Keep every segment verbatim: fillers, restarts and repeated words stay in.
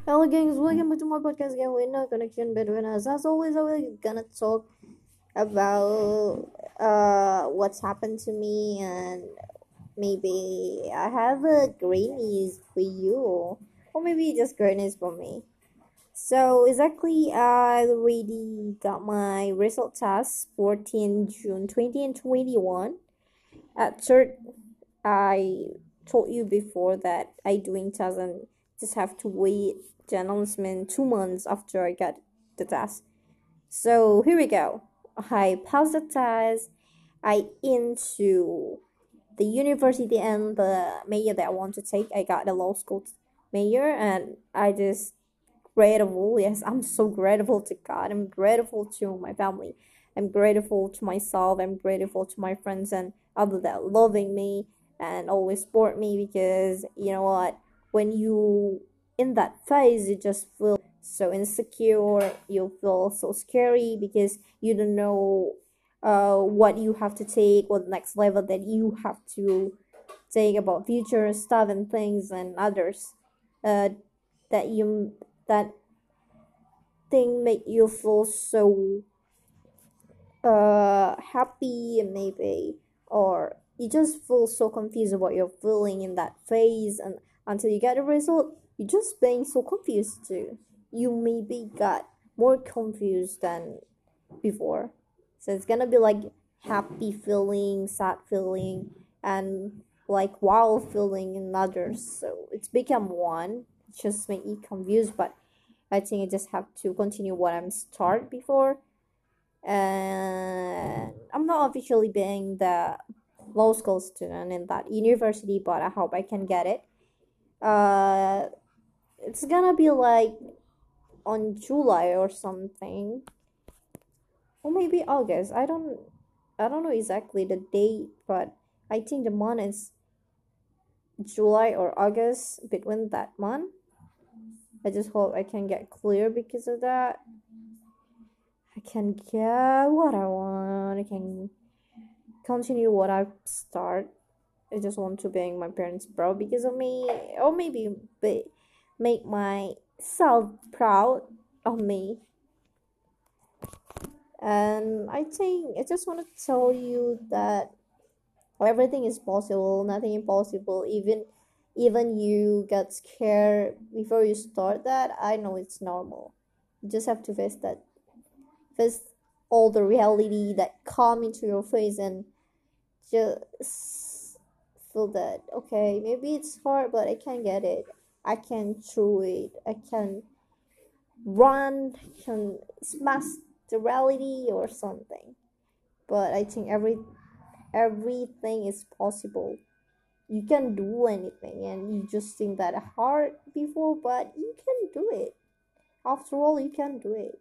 Hello, gangs. Welcome back to my podcast again with no connection between us. As always, we're gonna talk about uh what's happened to me, and maybe I have a great news for you, or maybe just great news for me. So exactly, I already got my result test fourteenth June twenty and twenty-one. At third, I told you before that I doing test and just have to wait the announcement two months after I got the test. So here we go. I passed the test. I into the university and the major that I want to take. I got the law school major, and I just grateful. Yes, I'm so grateful to God. I'm grateful to my family. I'm grateful to myself. I'm grateful to my friends and other that loving me and always support me, because you know what? When you in that phase, you just feel so insecure. You feel so scary because you don't know uh what you have to take, what next level that you have to take about future stuff and things and others uh that you that thing make you feel so uh happy, maybe, or you just feel so confused about your feeling in that phase, and until you get a result you just being so confused too. You maybe got more confused than before. So it's gonna be like happy feeling, sad feeling, and like wow feeling in others. So it's become one. It just make you confused, but I think I just have to continue what I'm start before. And I'm not officially being the law school student in that university, but I hope I can get it. Uh, it's gonna be like on July or something, or maybe August. I don't, I don't know exactly the date, but I think the month is July or August, between that month. I just hope I can get clear because of that. I can get what I want. I can continue what I start. I just want to make my parents proud because of me, or maybe be, make myself proud of me. And I think I just want to tell you that everything is possible, nothing impossible. Even even you get scared before you start that, I know it's normal. You just have to face that, face all the reality that come into your face, and just feel that okay, maybe it's hard, but I can get it. I can through it. I can run. I can smash the reality or something. But I think every everything is possible. You can do anything, and you just think that hard before, but you can do it. After all, you can do it,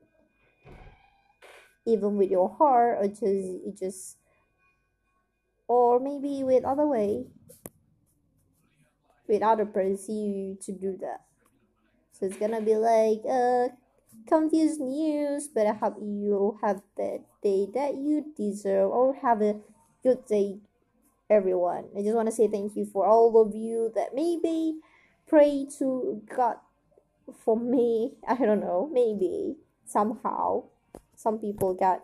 even with your heart, or just you just, or maybe with other way, with other person you to do that. So it's gonna be like uh confused news, but I hope you have the day that you deserve, or have a good day, everyone. I just want to say thank you for all of you that maybe pray to God for me. I don't know, maybe somehow some people got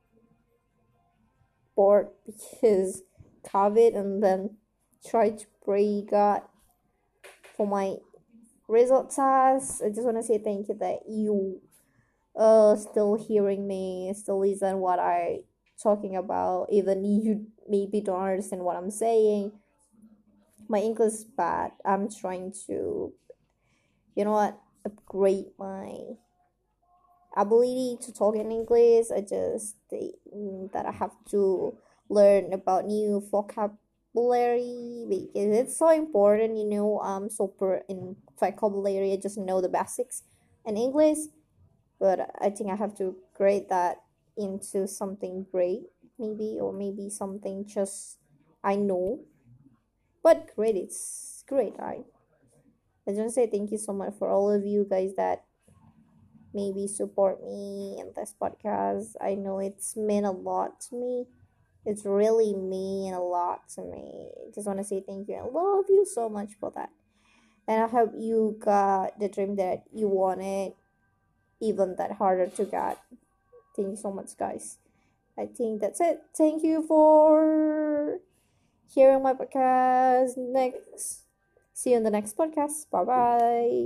bored because COVID, and then try to pray God for my result test. I just want to say thank you that you uh still hearing me, still listen what I talking about, even you maybe don't understand what I'm saying. My English is bad. I'm trying to, you know what, upgrade my ability to talk in English. I just think that I have to learn about new vocabulary because it's so important. You know, I'm super in vocabulary. I just know the basics in English, but I think I have to grade that into something great, maybe, or maybe something just I know. But great, it's great, right? I just want to say thank you so much for all of you guys that maybe support me in this podcast. I know it's meant a lot to me. It's really mean a lot to me. I just want to say thank you. I love you so much for that. And I hope you got the dream that you wanted, even that harder to get. Thank you so much, guys. I think that's it. Thank you for hearing my podcast. Next, see you in the next podcast. Bye bye.